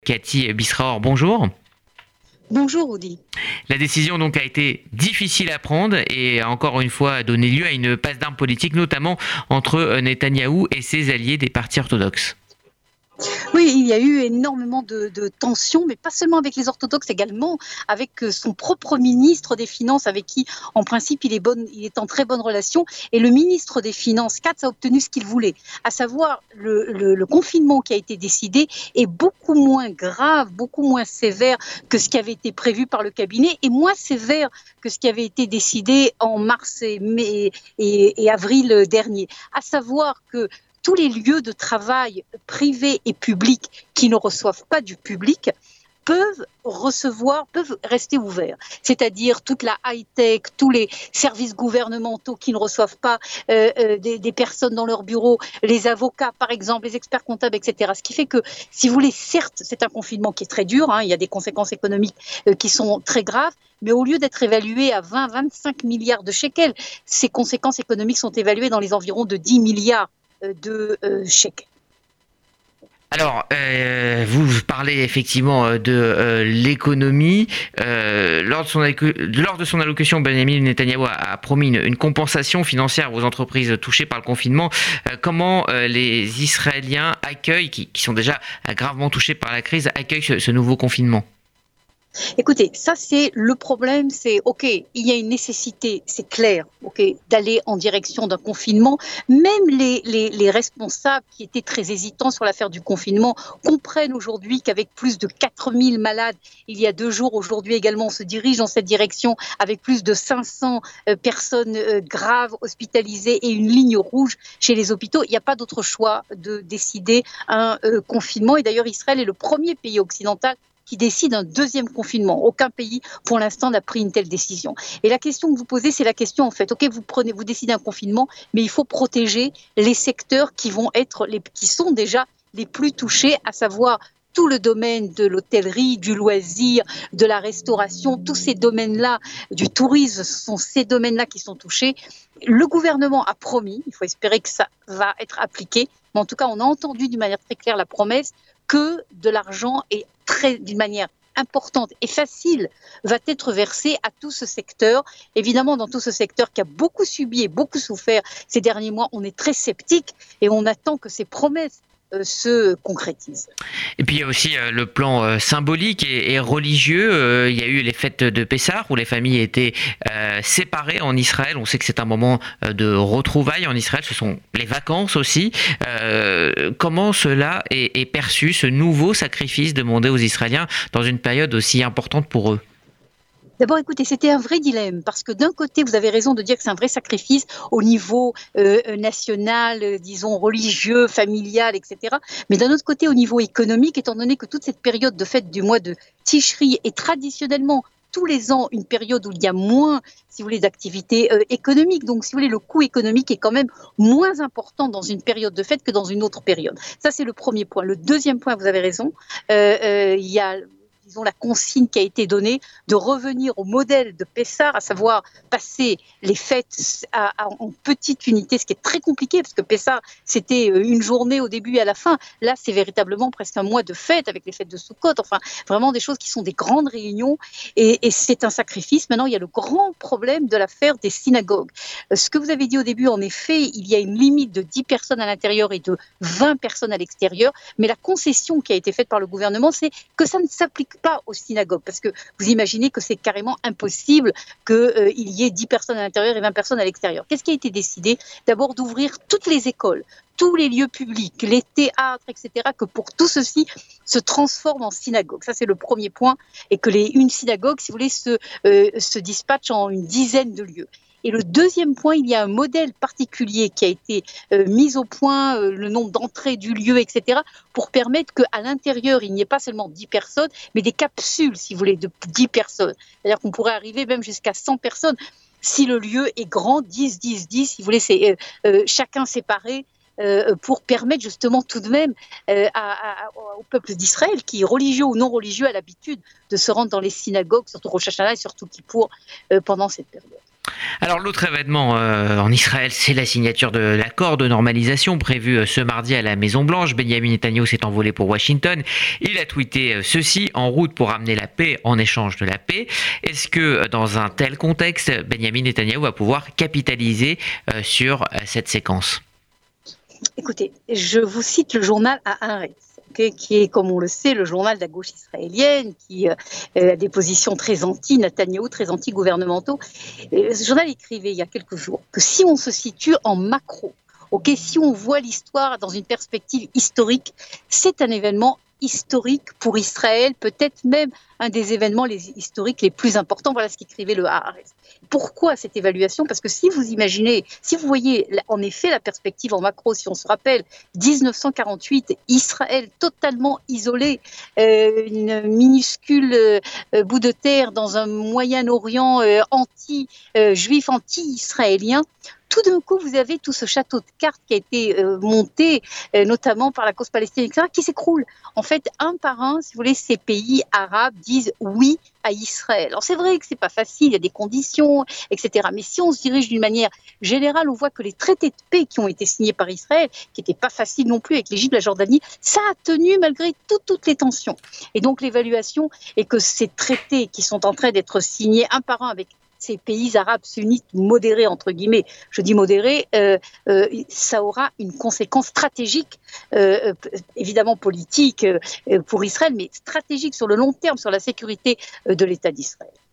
Cathy Bisraor, bonjour. Bonjour Audi. La décision donc a été difficile à prendre et a encore une fois donné lieu à une passe d'armes politique, notamment entre Netanyahou et ses alliés des partis orthodoxes. Oui, il y a eu énormément de tensions, mais pas seulement avec les orthodoxes, également avec son propre ministre des Finances, avec qui, en principe, il est en très bonne relation. Et le ministre des Finances, Katz, a obtenu ce qu'il voulait, à savoir le confinement qui a été décidé est beaucoup moins grave, beaucoup moins sévère que ce qui avait été prévu par le cabinet et moins sévère que ce qui avait été décidé en mars et avril dernier. À savoir que tous les lieux de travail privés et publics qui ne reçoivent pas du public peuvent rester ouverts. C'est-à-dire toute la high-tech, tous les services gouvernementaux qui ne reçoivent pas des personnes dans leur bureau, les avocats par exemple, les experts comptables, etc. Ce qui fait que, si vous voulez, certes, c'est un confinement qui est très dur, il y a des conséquences économiques qui sont très graves, mais au lieu d'être évaluées à 20-25 milliards de shekels, ces conséquences économiques sont évaluées dans les environs de 10 milliards de shekels. Alors, vous parlez effectivement de l'économie. Lors de son allocution, Benjamin Netanyahou a promis une compensation financière aux entreprises touchées par le confinement. Comment les Israéliens accueillent, qui sont déjà gravement touchés par la crise, accueillent ce nouveau confinement ? Écoutez, ça c'est le problème, c'est ok, il y a une nécessité, c'est clair, ok, d'aller en direction d'un confinement. Même les responsables qui étaient très hésitants sur l'affaire du confinement comprennent aujourd'hui qu'avec plus de 4000 malades, il y a 2 jours, aujourd'hui également, on se dirige dans cette direction avec plus de 500 personnes graves hospitalisées et une ligne rouge chez les hôpitaux. Il n'y a pas d'autre choix de décider un confinement. Et d'ailleurs, Israël est le premier pays occidental qui décide un deuxième confinement. Aucun pays, pour l'instant, n'a pris une telle décision. Et la question que vous posez, c'est la question, en fait, ok, vous décidez un confinement, mais il faut protéger les secteurs qui sont déjà les plus touchés, à savoir tout le domaine de l'hôtellerie, du loisir, de la restauration, tous ces domaines-là, du tourisme, ce sont ces domaines-là qui sont touchés. Le gouvernement a promis, il faut espérer que ça va être appliqué, mais en tout cas, on a entendu d'une manière très claire la promesse que de l'argent est d'une manière importante et facile va être versée à tout ce secteur. Évidemment, dans tout ce secteur qui a beaucoup subi et beaucoup souffert ces derniers mois, on est très sceptique et on attend que ces promesses se concrétisent. Et puis il y a aussi le plan symbolique et religieux. Il y a eu les fêtes de Pessah où les familles étaient séparées en Israël. On sait que c'est un moment de retrouvailles en Israël. Ce sont les vacances aussi. Comment cela est perçu, ce nouveau sacrifice demandé aux Israéliens dans une période aussi importante pour eux ? D'abord, écoutez, c'était un vrai dilemme parce que d'un côté, vous avez raison de dire que c'est un vrai sacrifice au niveau national, disons religieux, familial, etc. Mais d'un autre côté, au niveau économique, étant donné que toute cette période de fête du mois de Tishri est traditionnellement tous les ans une période où il y a moins, si vous voulez, d'activités économiques. Donc, si vous voulez, le coût économique est quand même moins important dans une période de fête que dans une autre période. Ça, c'est le premier point. Le deuxième point, vous avez raison, il y a la consigne qui a été donnée de revenir au modèle de Pessah, à savoir passer les fêtes en petite unité, ce qui est très compliqué parce que Pessah, c'était une journée au début et à la fin. Là, c'est véritablement presque un mois de fête avec les fêtes de Sukkot, enfin, vraiment des choses qui sont des grandes réunions et c'est un sacrifice. Maintenant, il y a le grand problème de l'affaire des synagogues. Ce que vous avez dit au début, en effet, il y a une limite de 10 personnes à l'intérieur et de 20 personnes à l'extérieur, mais la concession qui a été faite par le gouvernement, c'est que ça ne s'applique pas aux synagogues, parce que vous imaginez que c'est carrément impossible qu'il y ait 10 personnes à l'intérieur et 20 personnes à l'extérieur. Qu'est-ce qui a été décidé ? D'abord d'ouvrir toutes les écoles, tous les lieux publics, les théâtres, etc., que pour tout ceci se transforme en synagogue. Ça, c'est le premier point, et que une synagogue, si vous voulez, se dispatche en une dizaine de lieux. Et le deuxième point, il y a un modèle particulier qui a été mis au point, le nombre d'entrées du lieu, etc., pour permettre qu'à l'intérieur, il n'y ait pas seulement 10 personnes, mais des capsules, si vous voulez, de 10 personnes. C'est-à-dire qu'on pourrait arriver même jusqu'à 100 personnes. Si le lieu est grand, 10, 10, 10, si vous voulez, c'est chacun séparé, pour permettre justement tout de même au peuple d'Israël, qui, religieux ou non religieux, a l'habitude de se rendre dans les synagogues, surtout Rosh Hashanah et surtout Kippour, pendant cette période. Alors l'autre événement en Israël, c'est la signature de l'accord de normalisation prévu ce mardi à la Maison-Blanche. Benjamin Netanyahu s'est envolé pour Washington. Il a tweeté ceci: en route pour amener la paix en échange de la paix. Est-ce que dans un tel contexte, Benjamin Netanyahu va pouvoir capitaliser sur cette séquence? Écoutez, je vous cite le journal Haaretz, qui est, comme on le sait, le journal de la gauche israélienne, qui a des positions très anti-Netanyahou, très anti-gouvernementaux. Ce journal écrivait il y a quelques jours que si on se situe en macro, si on voit l'histoire dans une perspective historique, c'est un événement historique pour Israël, peut-être même un des événements historiques les plus importants. Voilà ce qu'écrivait le Haaretz. Pourquoi cette évaluation? Parce que si vous imaginez, si vous voyez en effet la perspective en macro, si on se rappelle 1948, Israël totalement isolé, une minuscule bout de terre dans un Moyen-Orient anti-juif, anti-israélien. Tout d'un coup, vous avez tout ce château de cartes qui a été monté, notamment par la cause palestinienne, etc., qui s'écroule. En fait, un par un, si vous voulez, ces pays arabes disent oui à Israël. Alors c'est vrai que c'est pas facile, il y a des conditions, etc. Mais si on se dirige d'une manière générale, on voit que les traités de paix qui ont été signés par Israël, qui n'étaient pas faciles non plus avec l'Égypte, la Jordanie, ça a tenu malgré toutes les tensions. Et donc l'évaluation est que ces traités qui sont en train d'être signés un par un avec ces pays arabes sunnites modérés, entre guillemets, je dis modérés, ça aura une conséquence stratégique, évidemment politique pour Israël, mais stratégique sur le long terme, sur la sécurité de l'État d'Israël.